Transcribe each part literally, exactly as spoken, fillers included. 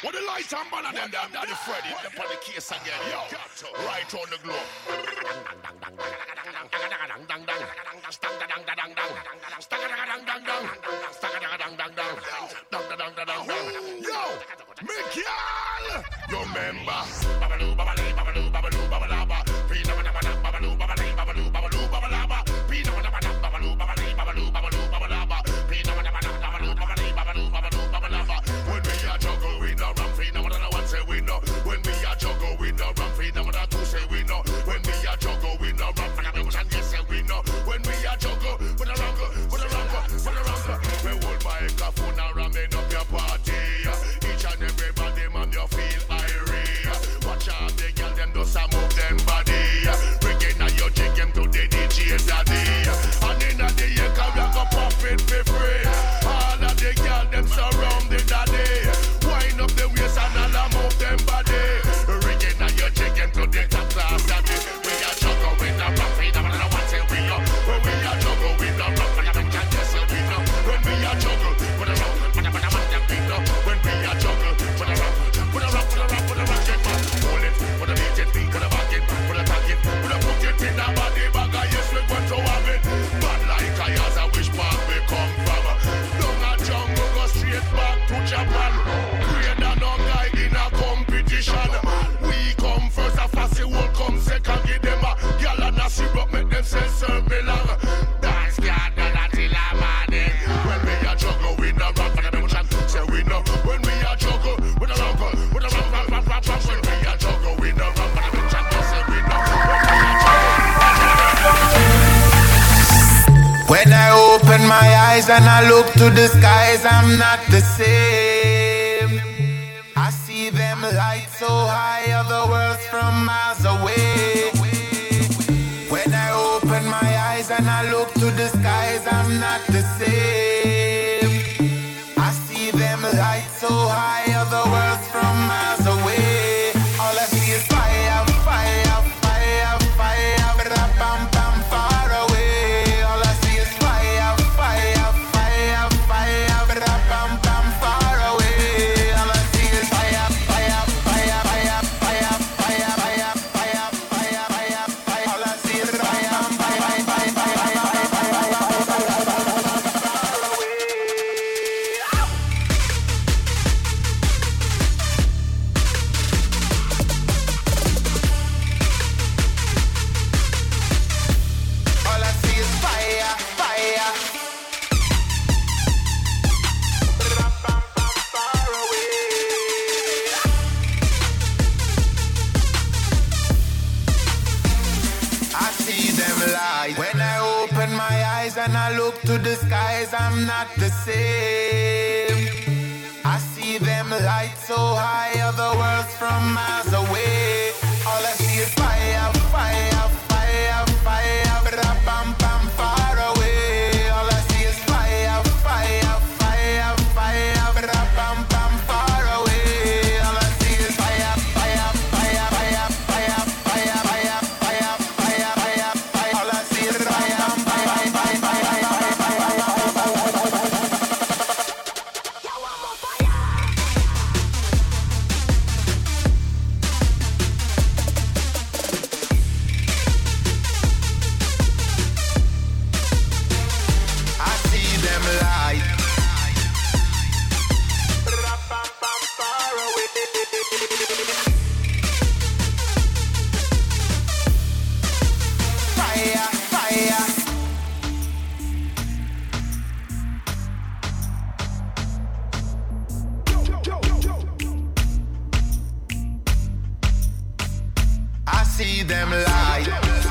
What the light and banner them down, Daddy Freddy, up on the case again, yo. Right on the globe. Yo, Michael, you remember? Babaloo, babaloo, babaloo, babaloo, babalaba. Pina babaloo, babaloo, babaloo, babaloo, babalaba. Pina babaloo, babaloo, babaloo, babaloo, babalaba. Pina babaloo, babaloo, babaloo, babaloo, babalaba. When we are juggle, we no run free. No matter what say we know. When we are juggle, we no run free. No matter who say we know. When we are juggle, we no run free. No matter yes say we know. When we are juggle, put a wrong, put a wrong, put a wrong. We hold microphone and ramming up your party. Each and everybody man, you feel irate. Watch out the girl, them do some move them body. Bringing out your chicken to the D J daddy. And in the year, come you go pop it for free. All of the girl, them surround the daddy. Wind up the waist and all move them body. Bringing out your chicken to the top class daddy. We are juggle with the rock, we don't know what say we know. When we are juggle with the rock, we don't know what say we know. When we are juggle, put a rock, put a rock, put a rock. When we are juggle, put a rock, put a rock, put a rock, put a rock, get back. Hold it, put a beat it, put a back it, put a tag it, put a put it in the body bag. Yes, we want to have it. But like I as I wish part we come from. Down a jungle, go straight back to Japan. Greater no guy in a competition. We come first, a fussy will come second. Give them a girl and a syrup, make them say serve me long. Dance can't do that till I'm morning. When we are juggle, we no run for the emotion. Say we know. When we are juggle, we no run for, we no run for, run for, run for. When we are juggle, we no run for the emotion. Say we know. When I open my eyes and I look to the skies, I'm not the same. I see them lights so high, other worlds from miles away. When I open my eyes and I look to the skies, I'm not the same. I see them lights so high, other worlds from miles away. All I see is fire, fire, fire, fire, bam, bam, far away. All I see is fire, fire, fire, fire, bam, bam, far away. All I see is fire, fire, fire, fire, fire, fire, fire, fire, fire, fire, fire. All I see is fire, fire, fire, fire, fire, fire, far away. All I see is fire, fire. Far away. I see them light. When I open my eyes and I look to the skies, I'm not the same. I see them lights so high, other worlds from miles away. All I see is fire, fire, fire, fire, bam, bam, far away. All I see is fire, fire, fire, fire, bam, bam, far away. All I see is fire, fire, fire, fire, fire, fire, fire, fire, fire, fire, fire. All I see is fire, fire, fire, fire, fire, fire, I see them light. Far away. Fire, fire. I see them light.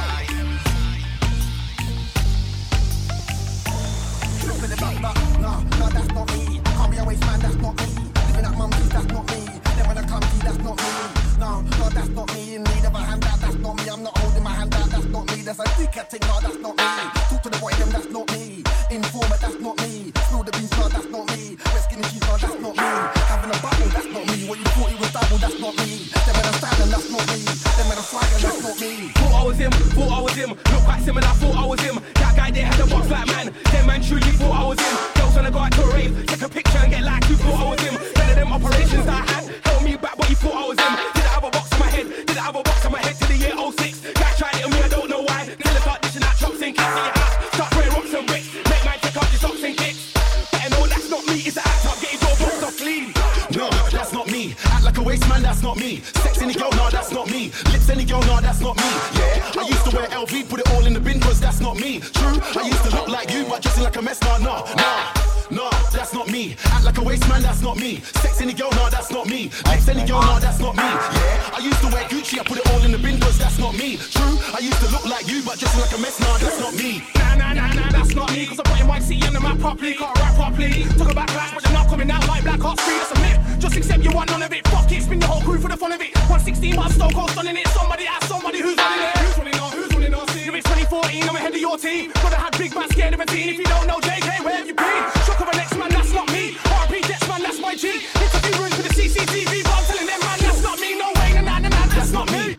Flipping it back, back. No, no, that's not me. Can't be a waste man, that's not me. Living at mum's, that's not me. Then when I come to you, that's not me. No, no, that's not me. In need of a handout, that's not me. I'm not holding my hand out, that's not me. There's a dickhead thing, no, that's not me. Talk to the boy, them, that's not me. Informer, that's not me. Spill the beans, no, that's not me. Red skinny cheese, no, that's not me. Having a bubble, that's not me. What you thought it was double, that's not me. Then when I'm standing, that's not me. Then when I'm flying, that's not me. Thought I was him, thought I was him. Look quite similar, thought I was him. That guy there had a box like man. Them man truly thought I was him. Girls wanna go out to a rave, take a picture and get like you thought I was him. None of them operations that I had. me. Act like a waste man, that's not me. Sex any girl, nah, that's not me. Lips any girl, nah, that's not me. Yeah, I used to wear L V, put it all in the bin, cause that's not me. True, I used to look like you, but dressing like a mess, nah, nah, nah. Nah, that's not me. Act like a waste man, that's not me. Sex any girl, nah, that's not me. Lips any girl, nah, that's not me. Yeah, I used to wear Gucci, I put it all in the bin, cause that's not me. True, I used to look like you, but dressing like a mess, nah, that's not me. Nah, nah, nah, nah, that's not me. Cause I'm putting white C on the map properly, can't rap properly. Talk about clash, but you're not coming out like Black Ops three, that's a myth. Just accept you want none of it. Fuck it, spin the whole crew for the fun of it. one sixteen miles, Stone Cold stunning it. Somebody ask somebody who's running it. Who's running on? Who's running on? If it's twenty fourteen, I'm ahead of your team. Brother had big man scared of a teen. If you don't know J K, where have you been? Shock of a next man, that's not me. R P Jets man, that's my G. Hit a few rooms for the C C T V, but I'm telling them man, that's not me. No way, nah, nah, nah, nah, that's not me.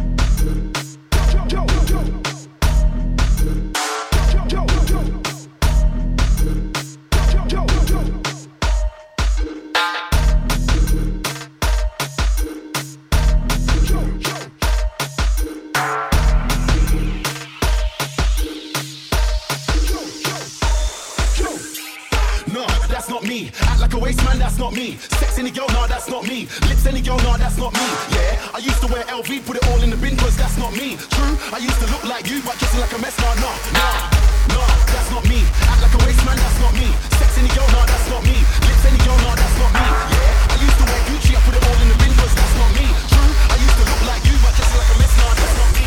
Act like a waste man, that's not me. Sex any girl, nah, that's not me. Lips any girl, nah, that's not me. Yeah, I used to wear L V, put it all in the bin, cause that's not me. True, I used to look like you, but dressing like a mess, nah, nah, nah, nah, that's not me. Act like a waste man, that's not me. Sex any girl, nah, that's not me. Lips any girl, nah, that's not me. Yeah, I used to wear Gucci, I put it all in the bin, cause that's not me. True, I used to look like you, but dressing like a mess, nah, that's not me.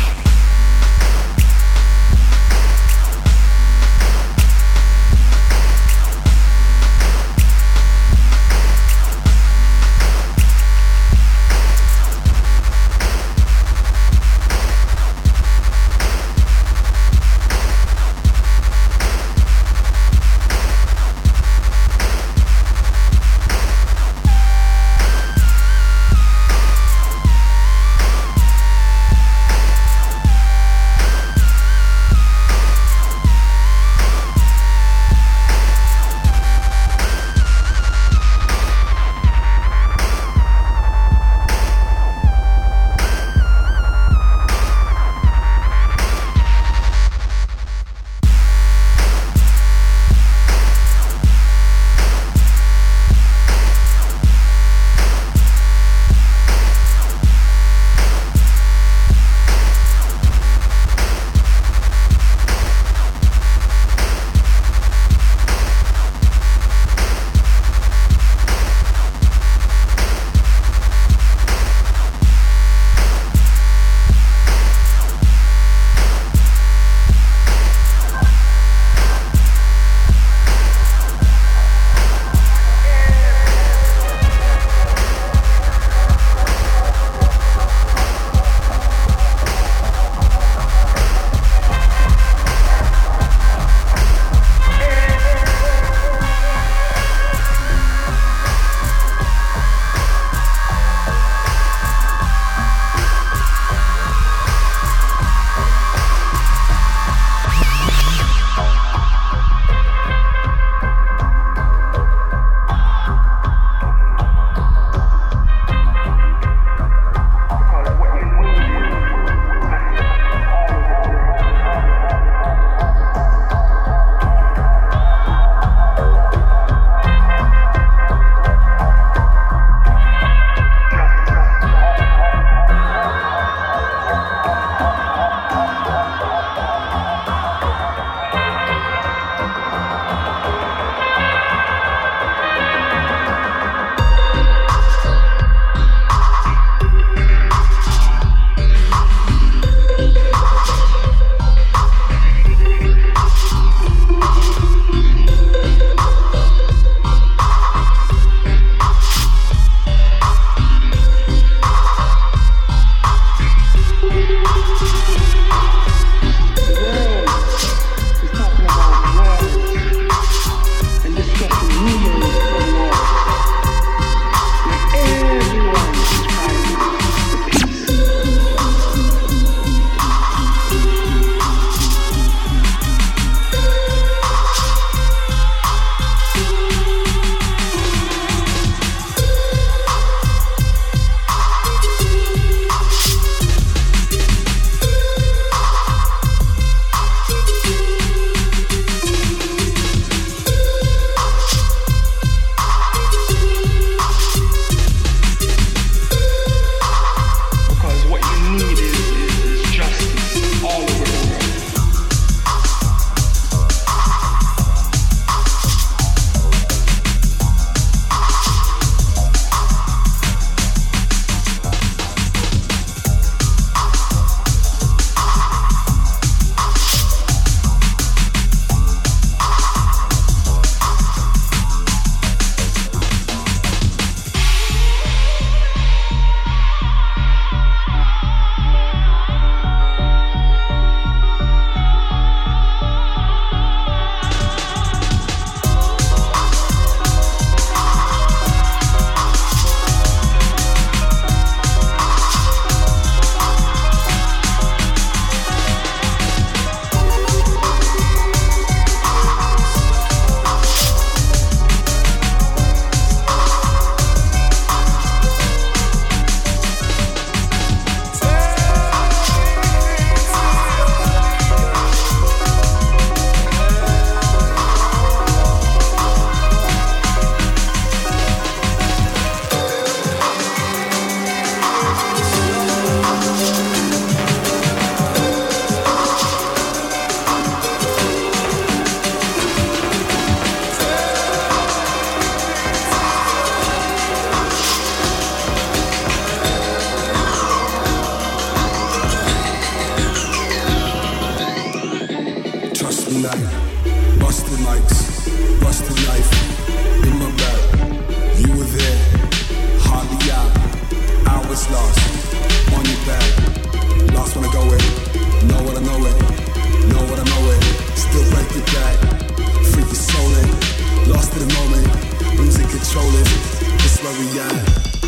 what's last. On your back, last one to go in. Know what I know it, know what I know it. Still break your back, freak your soul in. Lost in the moment, losing control it. This where we at.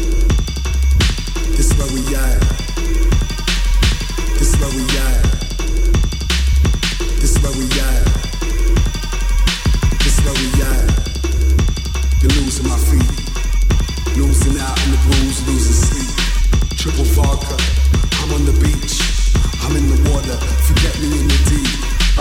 This where we at. This where we at. This where we at. This where we at. You're losing my feet. Losing out in the blues, losing sleep. Triple vodka, I'm on the beach. I'm in the water, forget me in the deep.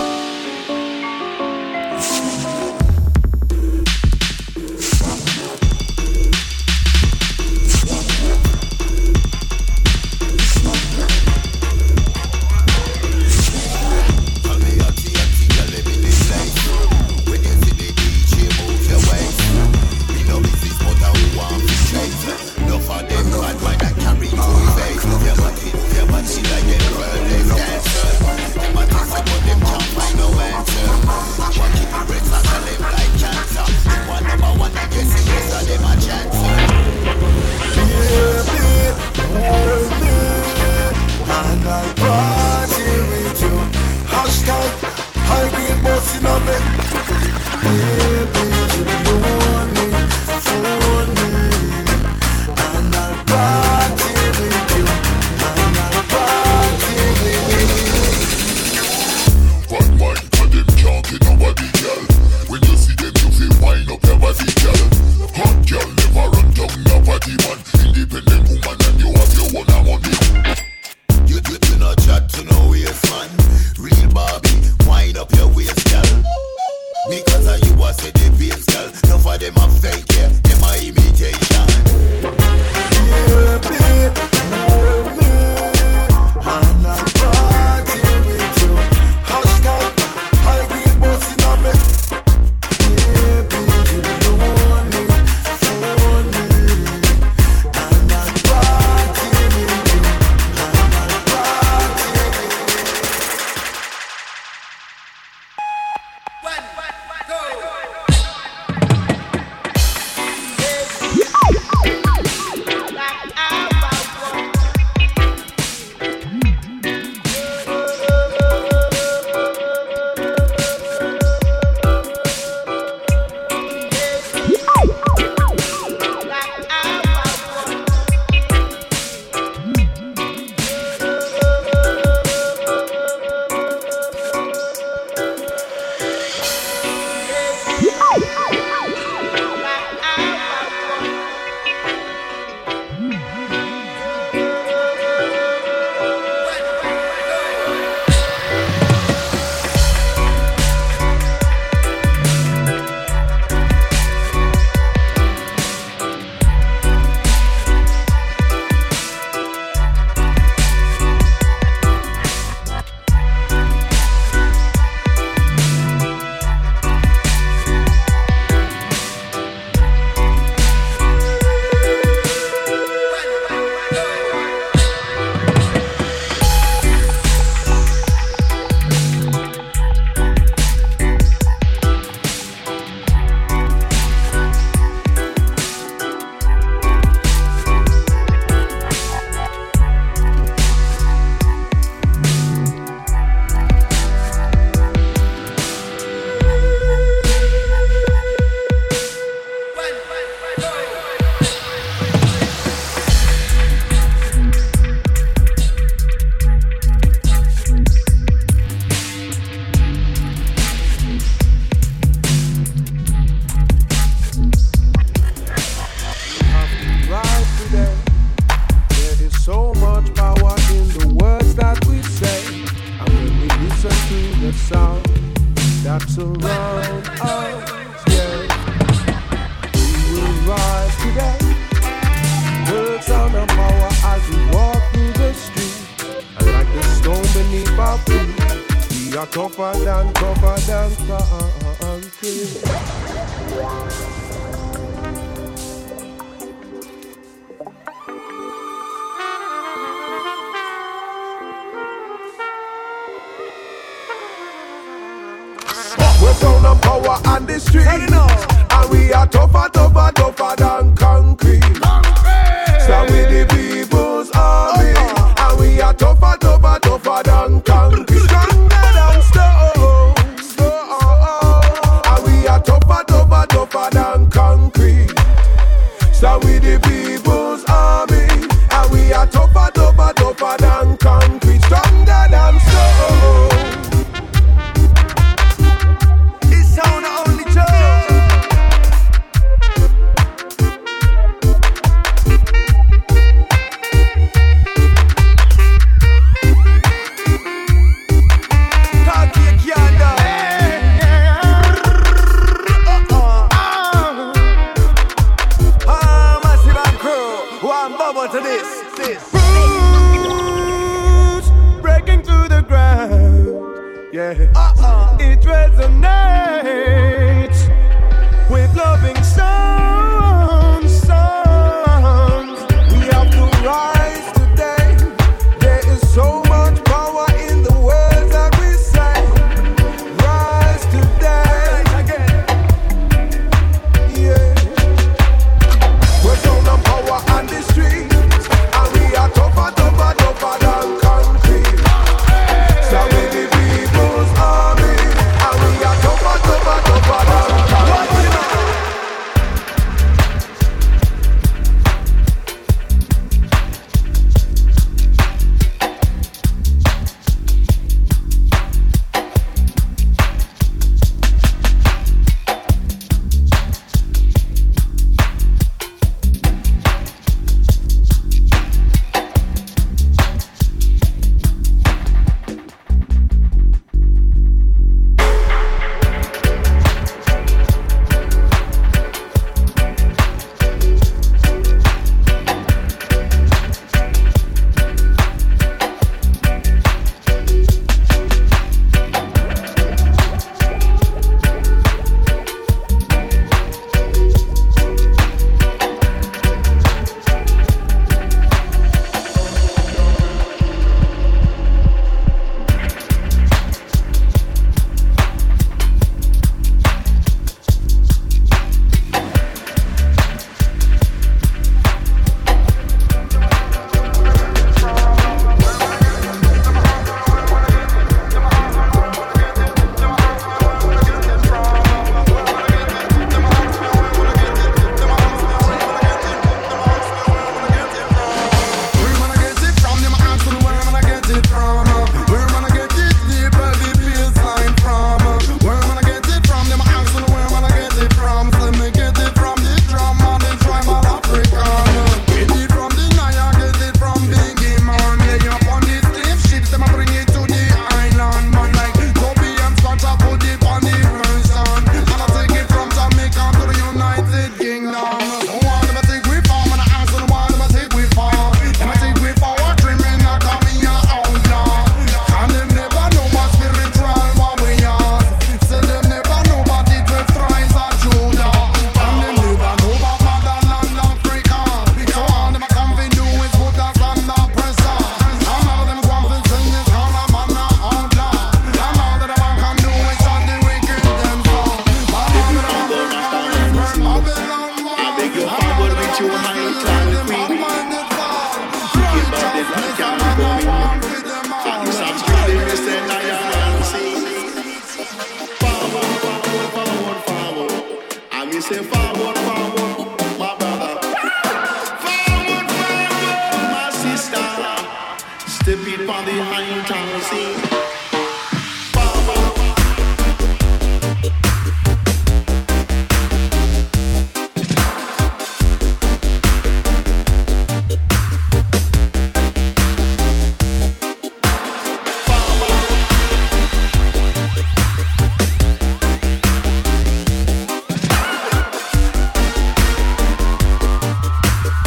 Tougher than, tougher than concrete. We're sound and power on the street, and we are tougher, tougher, tougher than concrete. Stand with the people. people's army, and we are tougher, tougher, tougher than concrete, stronger than stone. It's sound only Joe. Can't take you under. Ah, massive and crew, one bubble to this, this. Roots breaking through the ground, yeah. Uh-uh. It resonates with loving sounds, sounds. We have to rise today. There is so much power in the words that we say. Rise today, yeah. We're sound of power on the streets, and we are tougher, tougher, tougher than concrete. So we the people's army, and we are tougher, tougher, tougher than concrete.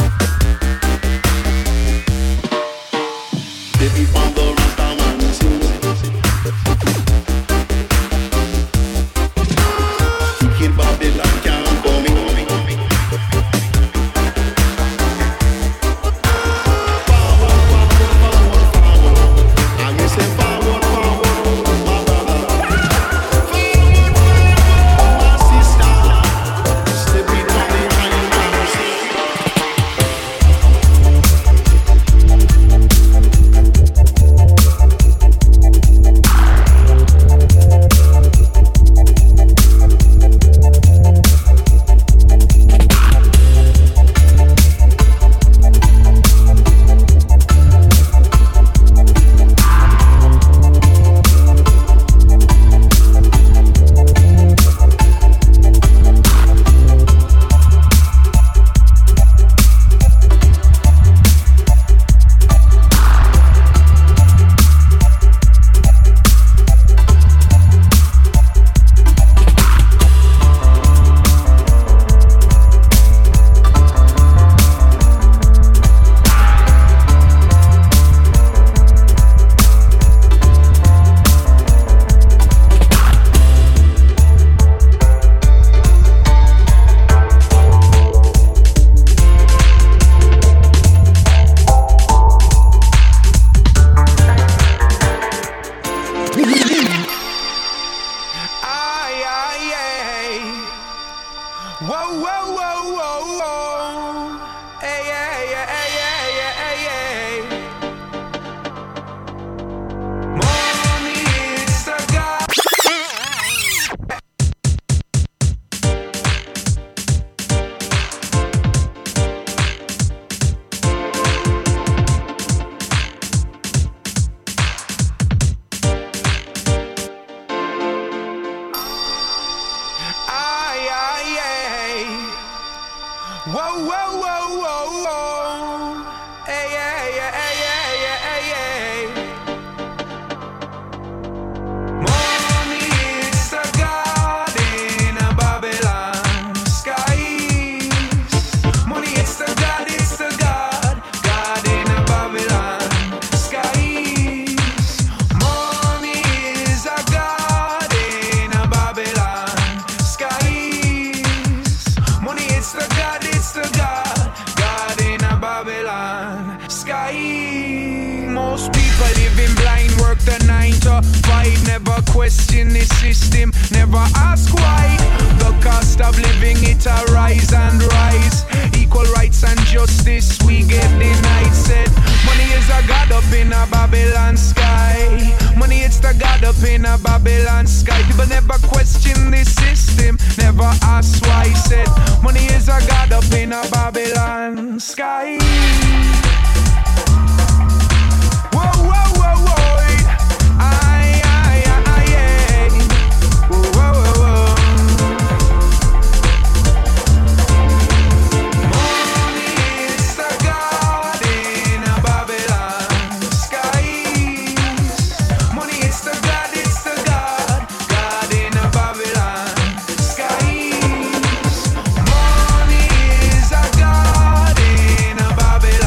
If you want the Rasta man, Most people living blind, work the nine to five. Never question the system, never ask why. The cost of living, it a rise and rise. Equal rights and justice, we get denied. Said, money is a god up in a Babylon sky. Money, it's the god up in a Babylon sky. People never question the system, never ask why. Said, money is a god up in a Babylon sky. Whoa, whoa, whoa, whoa. Aye, aye, aye, aye. Whoa, whoa, whoa. Money is the god in a Babylon skies. Money, it's the god, it's the god, god in a Babylon skies. Money is a god in a Babylon.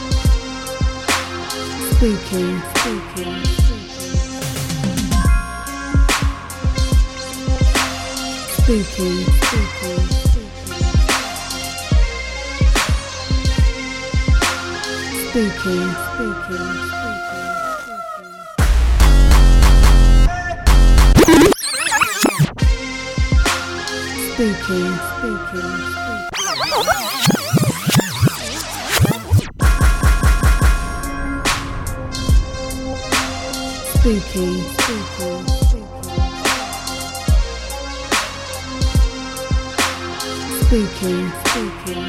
Spooky, spooky, spooky, spooky, spooky, spooky. Spooky, spooky, spooky, spooky, spooky, spooky,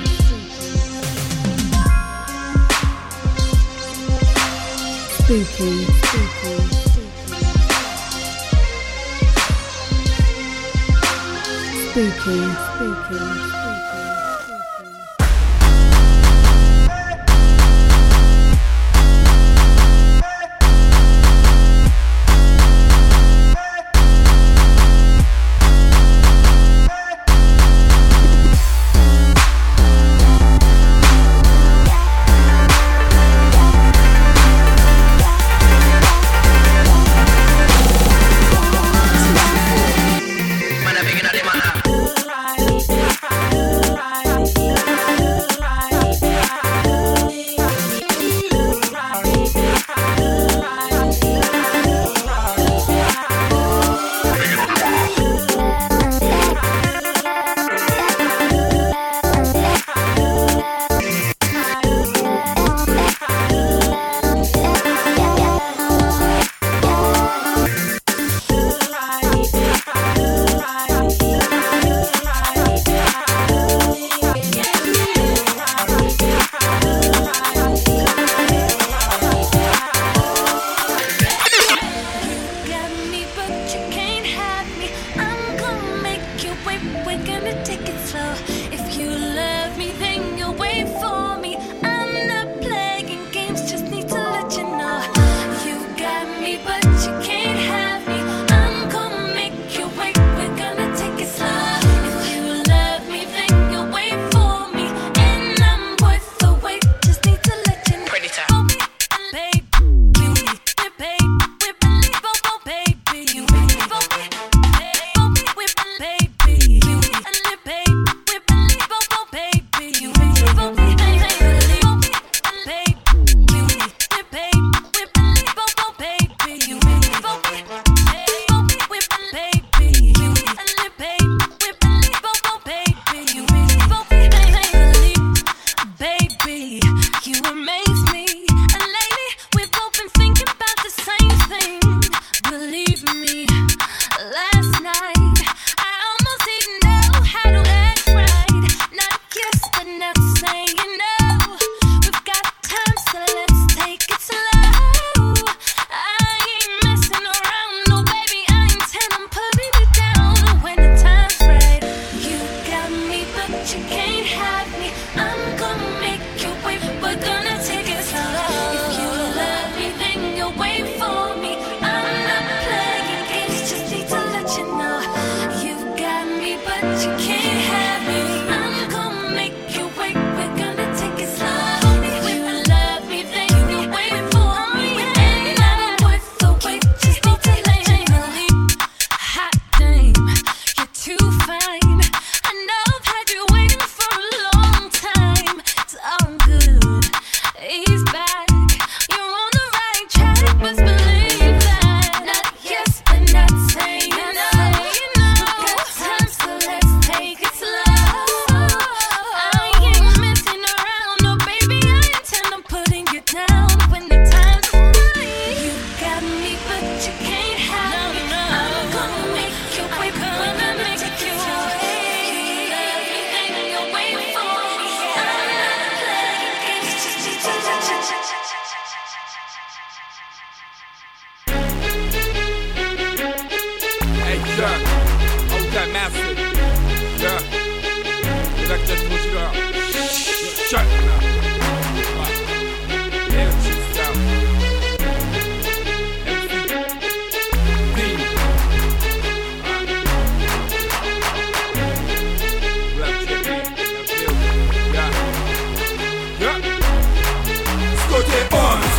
spooky, spooky. Spooky, spooky, spooky.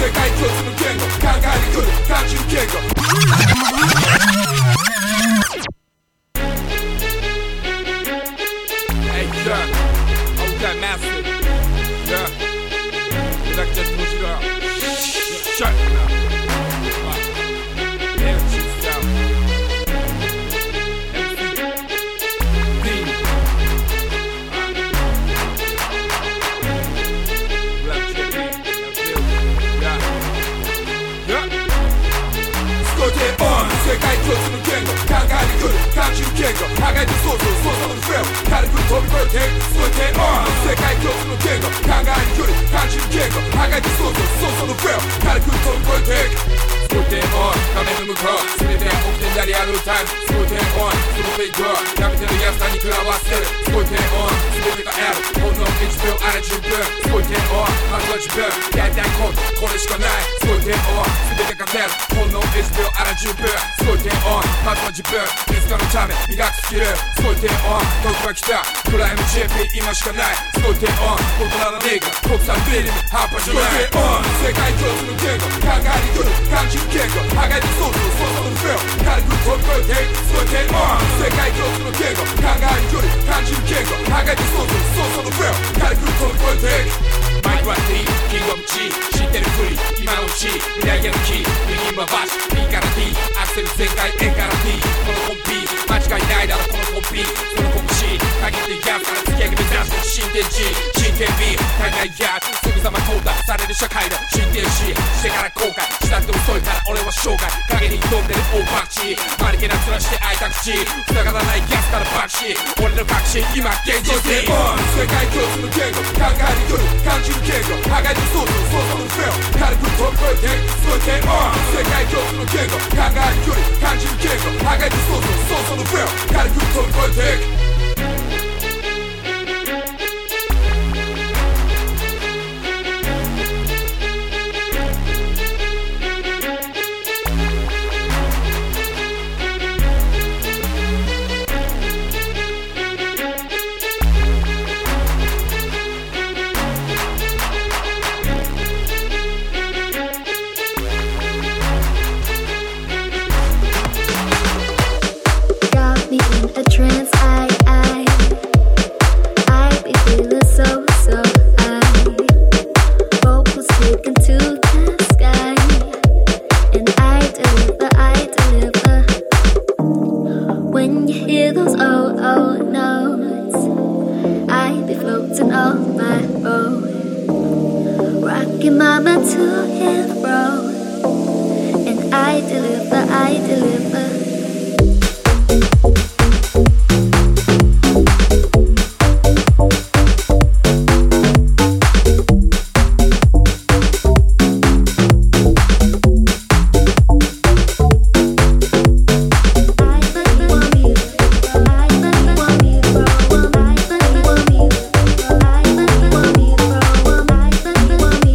世界共通の言語考えに来る単純言語Hey, yeah, oh, that massive, yeah, like that push it up, shut it up, energy sound, M C, D, Black J P, yeah, yeah, Scotty on, 世界共通の言語考えに来る単純言語互いに想像想像のフェル軽く飛び越えてScotty on 世界共通の言語考えに来る単純言語互いに想像想像のフェル軽く飛び越えてScotty on 画面の向こう全て起きてやりあるタイムScotty on そのフェイクやめてる安さに食らわせるScotty on 全てがあるほんのいちびょうあれじゅっぷんScotty on まずは自分やりたいことこれしかないScotty on 全てが出るほんのいちびょうあれじゅっぷんScotty on まずは自分いつかのため磨くスキルScotty on 時が来たプライム ジェーピー 今しかないScotty on 大人のネガ国産ビリム半端じゃない Scotty on 世界共通の言語考えに来る単純言語互いに想像想像のフェル軽く飛び越えてScotty on 世界共通の言語考えに来る単純言語互いに想像想像のフェル軽く飛び越えてマイクは D キングオブ G 知ってるふり今のうち未来へのキー右回し B から D アクセル全開 A から D このコンビ間違いないだろこのコンビその拳限ってやつから突き上げ目指して新天地真剣美海外やすぐさま淘汰される社会の新天使してから後悔したって遅いから俺は生涯影に挑んでる大パンチマリケな面して開いた口塞がらないギャスから爆死俺の確信今現実に世界共通の言語考えに来る単純言語互いに想像想像のフェル軽く飛び越えてScotty on 世界共通の言語考えに来る単純言語互いに想像想像のフェル軽く飛び越えて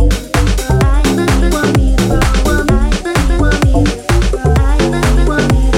Want me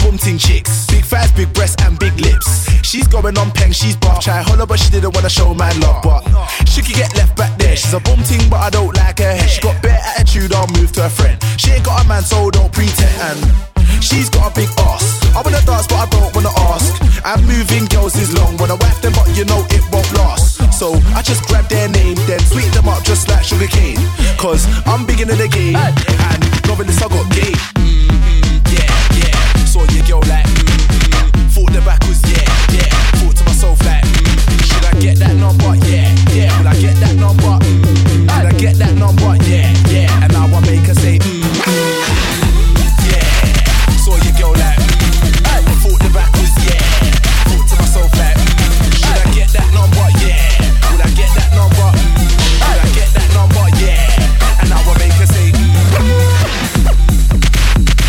boom ting chicks. Big thighs, big breasts and big lips. She's going on peng, she's buff. Try holler but she didn't wanna show man love. But she could get left back there. She's a boom ting but I don't like her hair. She got bare attitude, I'll move to her friend. She ain't got a man so don't pretend. And she's got a big ass. I wanna dance but I don't wanna ask. And moving girls is long. Wanna whack them but you know it won't last. So I just grab their name, then sweet them up just like sugar cane. Cause I'm big in the game. And novelist I got game. Mm-hmm, yeah, yeah. Saw your girl like mm-hmm. Thought the back was yeah, yeah. Thought to myself like mm, should I get that number? Yeah, yeah. Will I get that number? Mm, did I get that number? Yeah, yeah. And now I make her say mm, mm, yeah. Saw your girl like mm, thought the back was yeah. Thought to myself like mm, should I get that number? Yeah. Would I get that number? Mm, would I get that number? Yeah. And now I make her say mm,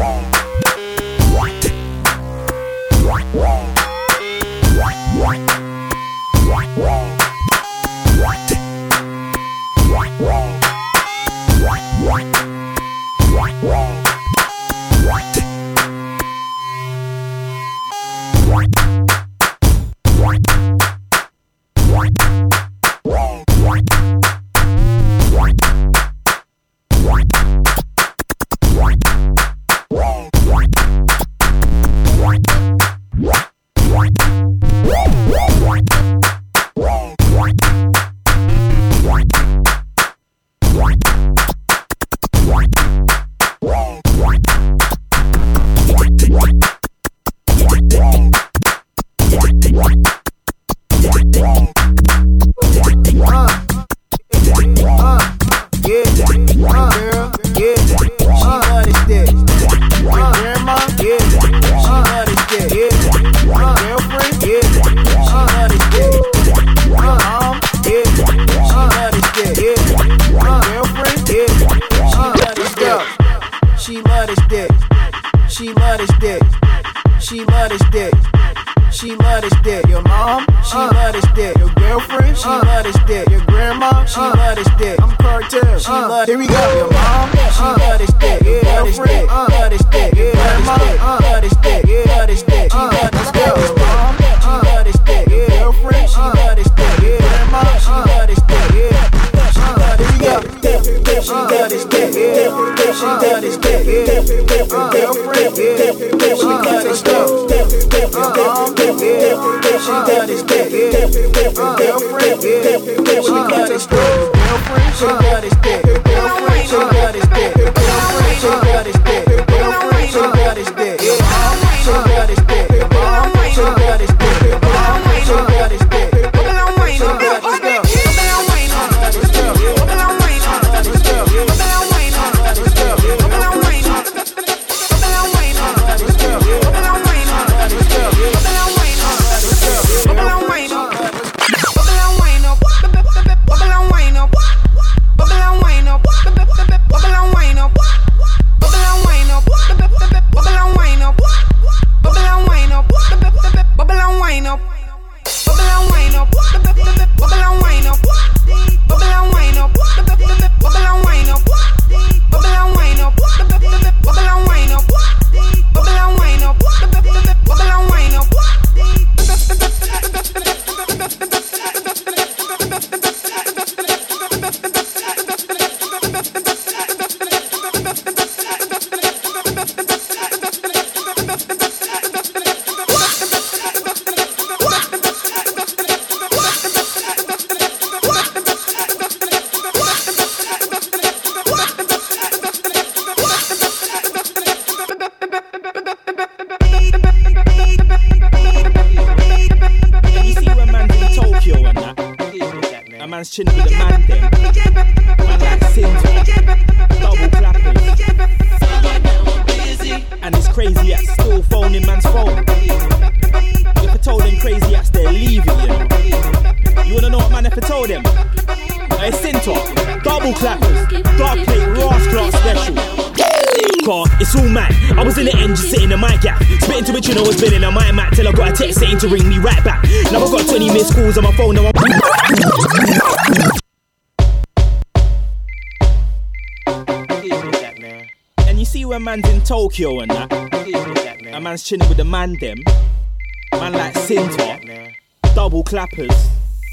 Chilling with the man them, man like Sintra, double clappers, and it's crazy acts still phoning man's phone. If I told them crazy acts they're leaving, you know. You wanna know what man if I told them? Hey Sintra, double clappers, dark plate, Ross class special. Car, it's all mad. I was in the end just sitting in my gap, spitting to which you know was been in a my mat till I got a text saying to ring me right back. Now I've got twenty missed calls on my phone. Now I'm and you see when man's in Tokyo and that, a man's chilling with the man them, man like Sintra, double clappers,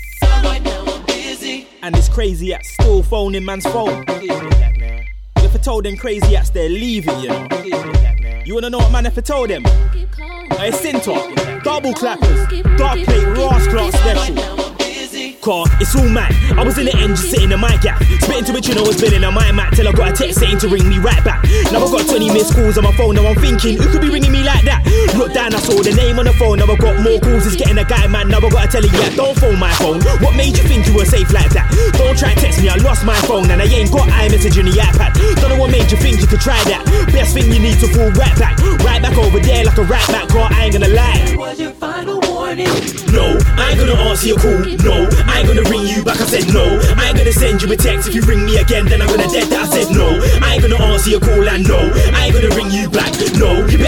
and it's crazy at still phoning man's phone. If I told them crazy acts they're leaving, you know. You wanna know what man if I told them? Hey Sintra, double clappers, dark plate, Ross class special. Car, it's all mad. I was in the end just sitting in my gap, spitting to which you know was been in a my mat till I got a text saying to ring me right back. Now I've got twenty missed calls on my phone. Now I'm thinking, who could be ringing me like that? Look down, I saw the name on the phone. Now I've got more calls, it's getting a guy man. Now I've got to tell you, yeah, don't phone my phone. What made you think you were safe like that? Don't try to text me, I lost my phone and I ain't got iMessage on the iPad. Don't know what made you think you could try that. Best thing you need to fall right back, right back over there like a right back. Car, I ain't gonna lie. Was your final warning? No, I ain't gonna answer your call. No, I ain't gonna ring you back. I said no. I ain't gonna send you a text. If you ring me again, then I'm gonna dead that. I said no. I ain't gonna answer your call and no, I ain't gonna ring you back.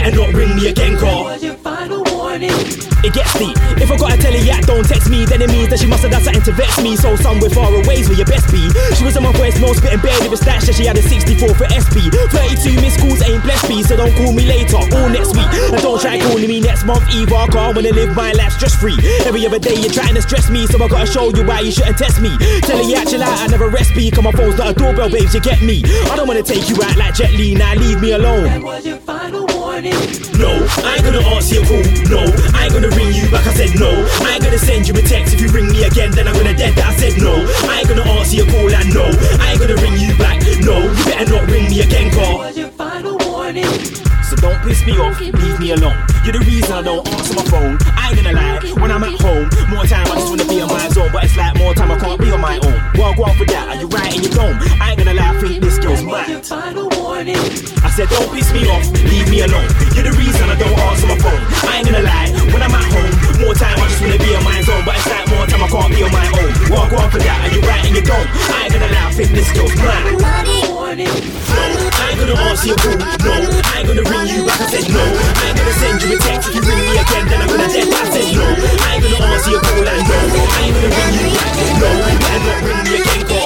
better not ring me again, car. Was your final warning? It gets deep. If I got a telly-yak, don't text me, then it means that she must have done something to vex me. So somewhere far away's where you best be. She was on my voice, no spitting bare, it was that shit. She had a sixty-four for S P. thirty-two missed calls ain't blessed me, so don't call me later or next week. And don't try calling me next month either, car. I wanna live my life stress free. Every other day you're trying to stress me, so I gotta show you why you shouldn't test me. Telly-yak, chill out, I never rest me. Cause my phone's not a doorbell, babes, you get me. I don't wanna take you out like Jet Li, now leave me alone. That was your final warning. No, I ain't gonna answer your call. No, I ain't gonna ring you back. I said no. I ain't gonna send you a text. If you ring me again, then I'm gonna dead that. I said no. I ain't gonna answer your call. And no, I ain't gonna ring you back. No, you better not ring me again, car. That was your final warning. So don't piss me off, leave me alone. You're the reason I don't answer my phone. I ain't gonna lie, when I'm at home, more time I just wanna be on my zone. But it's like more time I can't be on my own. Well, go on for that, are you right in your dome? I ain't gonna lie, I think this girl's mad. I said don't piss me off, leave me alone. You're the reason I don't answer my phone. I ain't gonna lie, when I'm at home, more time I just wanna be on my zone. But it's like more time I can't be on my own. Well, go on for that, are you right in your dome? I ain't gonna lie, I think this girl's mad. No, I ain't gonna answer your call. No, I ain't gonna ring you back. I said no. I ain't gonna send you a text. If you ring me again, then I'm gonna dead. I said no. I ain't gonna answer your call. And no, I ain't gonna ring you back. No, you better not ring me again, call.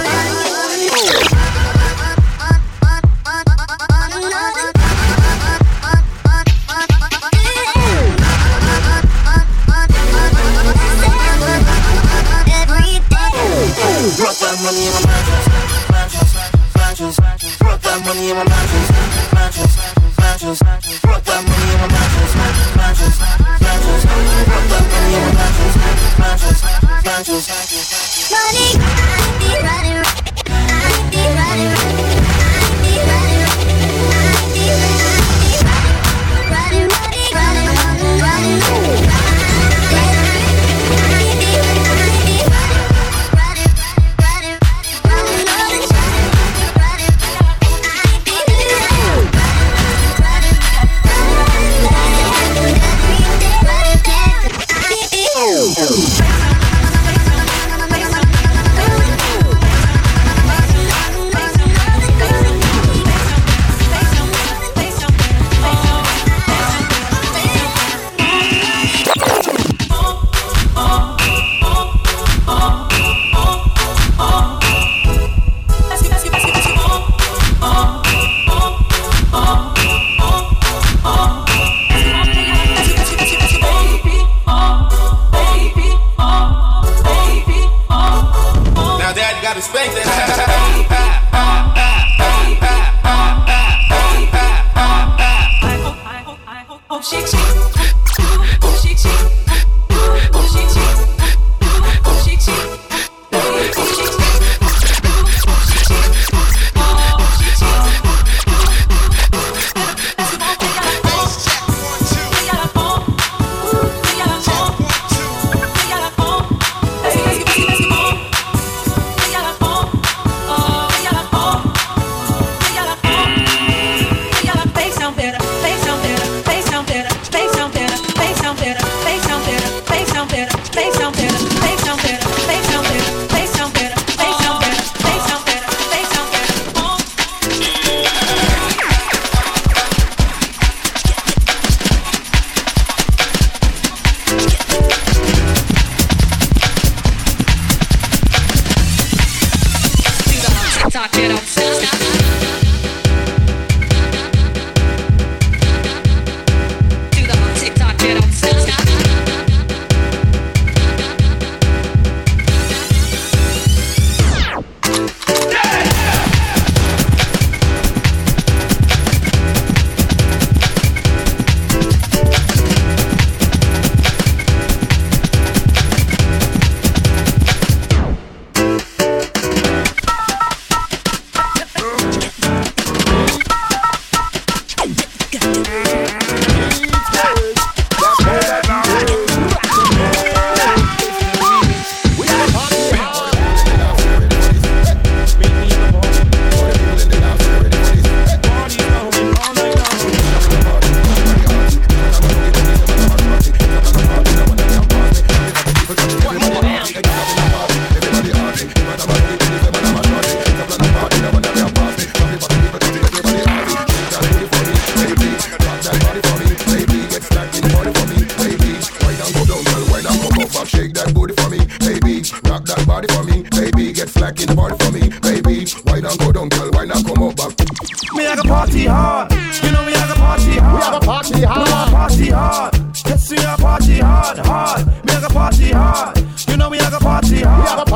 Drop that money in my mattress, mattress, mattress, mattress. Drop that money in my mattress, mattress, mattress, mattress. Drop that money in my mattress, mattress, mattress. Drop that money in my mattress, mattress, mattress, mattress. Money, I be running, I be running, I be running, I be running, running, running, running, running, running. Face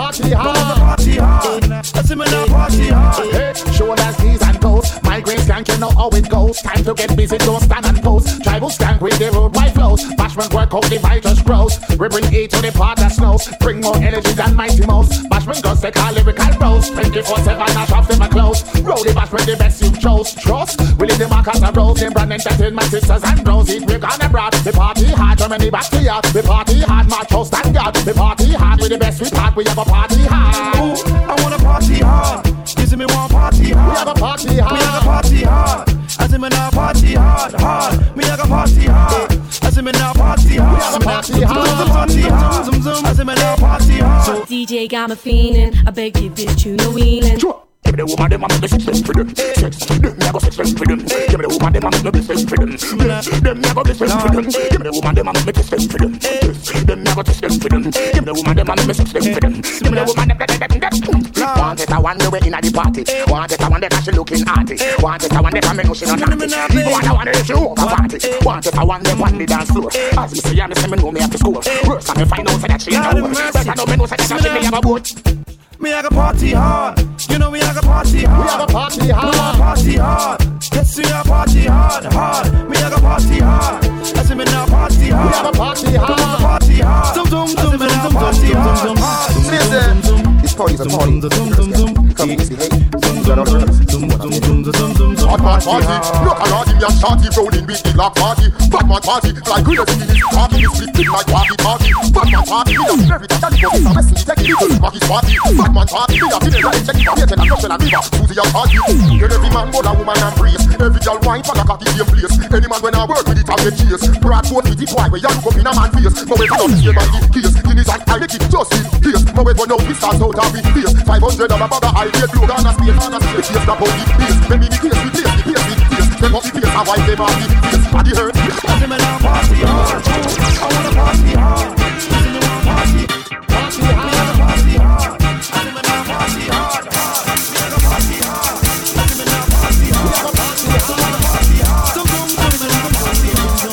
party hard. Party hard. I see me now party hard. Hey, shoulders, knees and toes. Migraine skank, you know how it goes. Time to get busy, don't stand and pose. Tribal skank with the road wide flows. Bashment work out, the vibe just grows. We bring E to the part that snows. Bring more energy than Mighty Mouse. Bashment goes take our lyrical bros. twenty-four seven, nash off them a close. Roll the bashment, the best you chose. Trust, we leave the markers and rose. Them brand entertainment sisters and bros. It we're gonna brought. The party hard, Germany back to yard. The party hard, march house and guard. The party hard, with the best we part. We have a party hard. Ooh, I wanna party hard. You see me want party hard. We have a party hard. We have a party hard. I see me now party hard, hard. Me have a party hard. I see me now party hard. We have a party hard. Party hard. Zoom zoom. I see me now party hard. D J got me feeling. I beg you, bitch, you know wheeling. Give me the woman, them, I'm the system for them. Sex, them, never system for them. Give me the woman, them, I'm the system for them. Them, never system for them. Give me the woman, them, I'm the system for them. Them, never system for them. Give me the woman, them, I'm the system for them. Give me the woman, them, them, them, them. Want it, I want the way in the party. Want it, I want the cash looking arty. Want it, I want the family, no, she not naughty. Want I want the issue over party. Want it, I want them, one the dance floor. As me say, I me know me have to score. Worse, I me find out that she know. Better know me know that she me have a boat. Me I got party hard, you know me I got party hard. We have a party hard, we have party hard. Let's see a party hard, hard. Me I got party hard. I see me now party hard. We have a party hard, party hard. Zoom zoom zoom zoom zoom party hard. Listen, this party's a party. Come misbehave. Hot man party, look around him, you're shorty rolling with the lock party. Batman party, like good as it is. Party is split with my party party. Batman party, we have everything that goes. I'm a silly take it to Mackie's party. Batman party, we have dinner and check it out. And Russell and River, Susie and party. Get every man, go a woman and praise. Every girl wine for a cocky same place. Any man when I work with it, I get chase. Bradford with it, why we young up in a man face. But we don't see by the case. In his hand, I make it just in case. But we don't know we start out of it face. Five hundred dollar bag of high grade blue on a space on a space. Chase the body place. When we the case, we place the place, we place. Then up the place, I wipe them on the face. Body hurt. I see me now party hard. I wanna party hard. I see me now party. Party hard. I wanna party hard. I see me now party hard. Hard. We wanna party hard. I see me now party hard. We wanna party hard. I wanna party hard. Zoom zoom zoom zoom zoom party hard.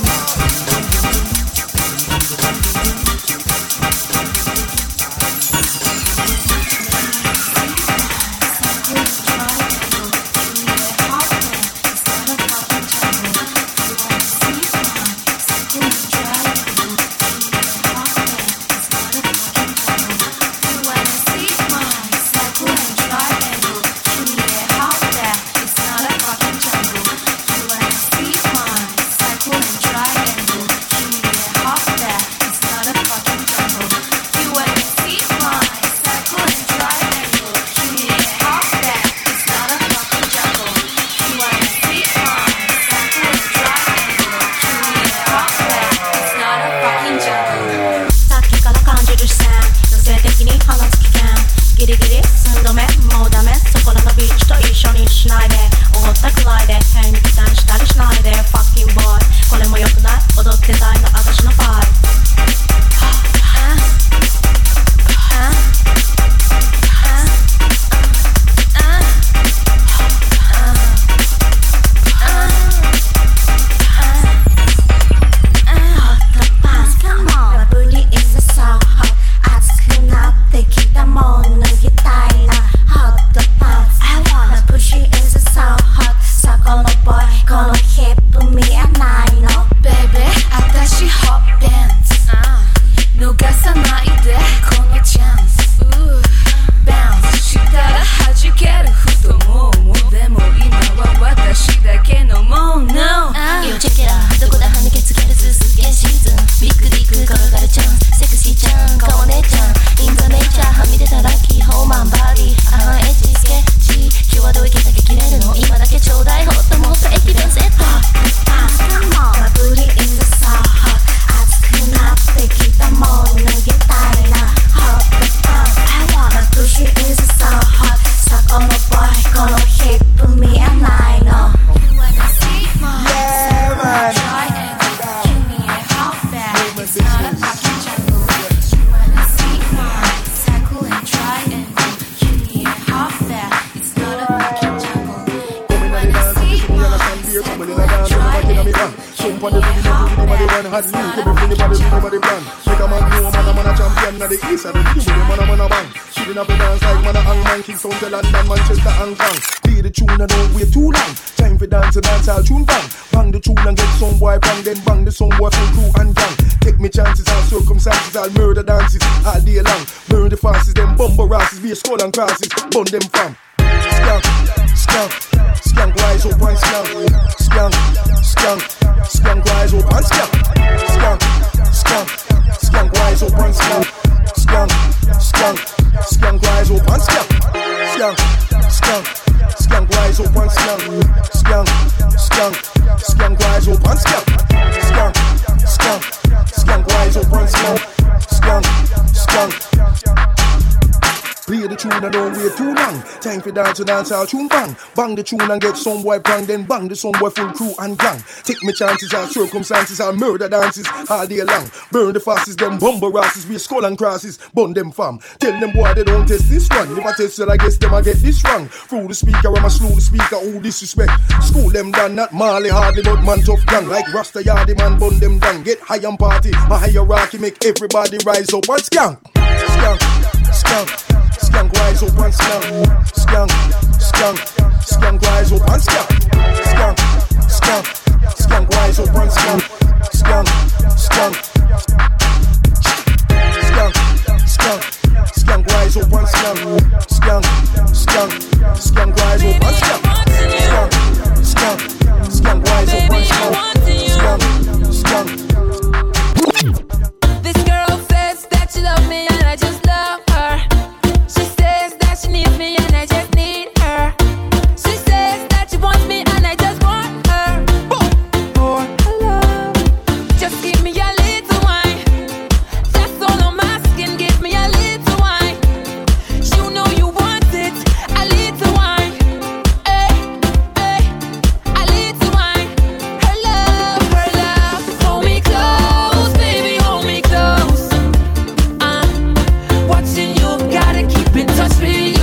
me hand. Jump on the rhythm and the rhythm of the one hard lean. Give me feeling by the rhythm of the brand. Make a man know man a man a champion of the east. And the rhythm with the man a man a bang. Shooting up the dance like man a hang man. King Sound to London, Manchester and Kong. Play the tune and don't wait too long. Time for dance and dance all tune bang. Bang the tune and get some boy bang. Then bang the song boy from crew and gang. Take me chances and circumstances. I'll murder dances all day long. Burn the fastest, them bumper asses. Be a skull and crosses. Bun them fam. Skank, skank, skank rise up and skank. Skank, skank, skank rise up and skank. Skank, skank, skank rise up and skank. Skank, skank, skank rise up and skank. Skank, skank, skank rise up and skank. Skank, skank, skank rise up and skank. Skank, skank, skank rise up and skank. Skank, skank. Play the tune and don't wait too long. Time for dance to dance all tune bang. Bang the tune and get some boy bang. Then bang the some boy full crew and gang. Take me chances and circumstances and murder dances all day long. Burn the fastest, them bumper asses. Be skull and crosses, bun them fam. Tell them boy they don't test this one. If I test it I guess them I get this wrong. Through the speaker I'm a slow the speaker. Who disrespect? School them down not Marley Hardy but man tough gang. Like Rasta Yardy man bun them down. Get high and party. My hierarchy make everybody rise up and skank. Skank, skank. Skank rise up and skank. Skank, skank, skank rise up and skank. Skank, skank, skank rise up and skank. Skank, skank, skank, skank, skank rise up and skank. Skank, skank, skank rise up and skank. Skank, skank, skank rise up and skank. Skank, skank. This girl says that she loves me and I just love her. She needs me and I just need her. She says that she wants me and I just want her. For her love, just give me a little wine. That's all I'm asking, give me a little wine. You know you want it, a little wine. Hey, hey, a little wine. Her love, her love. Hold me close, baby, hold me close. I'm watching you, gotta keep in touch with you.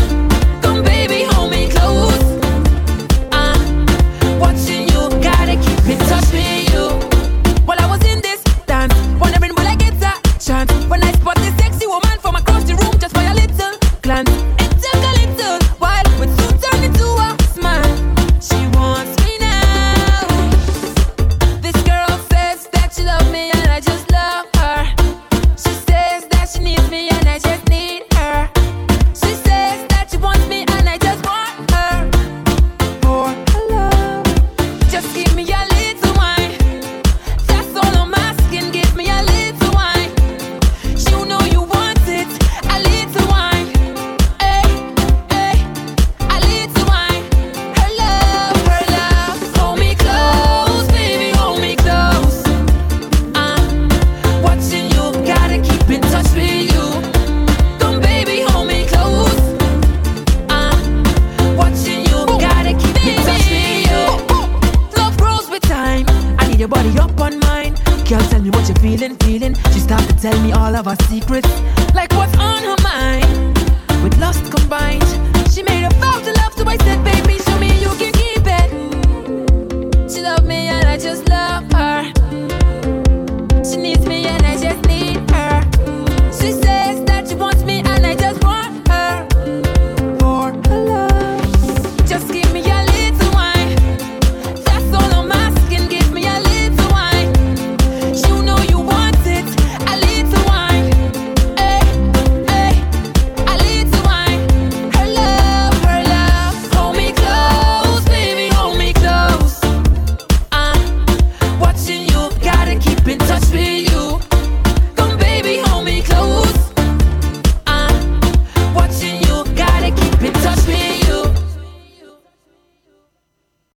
When I spot this sexy woman from across the room just for a little glance, it took a little while, but soon turned into a smile. She wants me now. This girl says that she loves me and I just love her. She says that she needs me and I just need her. She says that she wants me and I just want her. For her love, just give me a little wine. That's all I'm asking, give me a little wine. You know you want it, a little wine. Hey, hey, a little wine. Her love, her love. Hold me close, baby, hold me close. I'm watching you, gotta keep in touch with you. Come, baby, hold me close. I'm watching you, gotta keep in touch with you. Love grows with time. I need your body up on mine. Girl, tell me what you're feeling, feeling. She started to tell me all of her secrets, like what's on her mind. With lust combined, she made a vow to love, so I said, baby, show me you can keep it. She loved me and I just love her.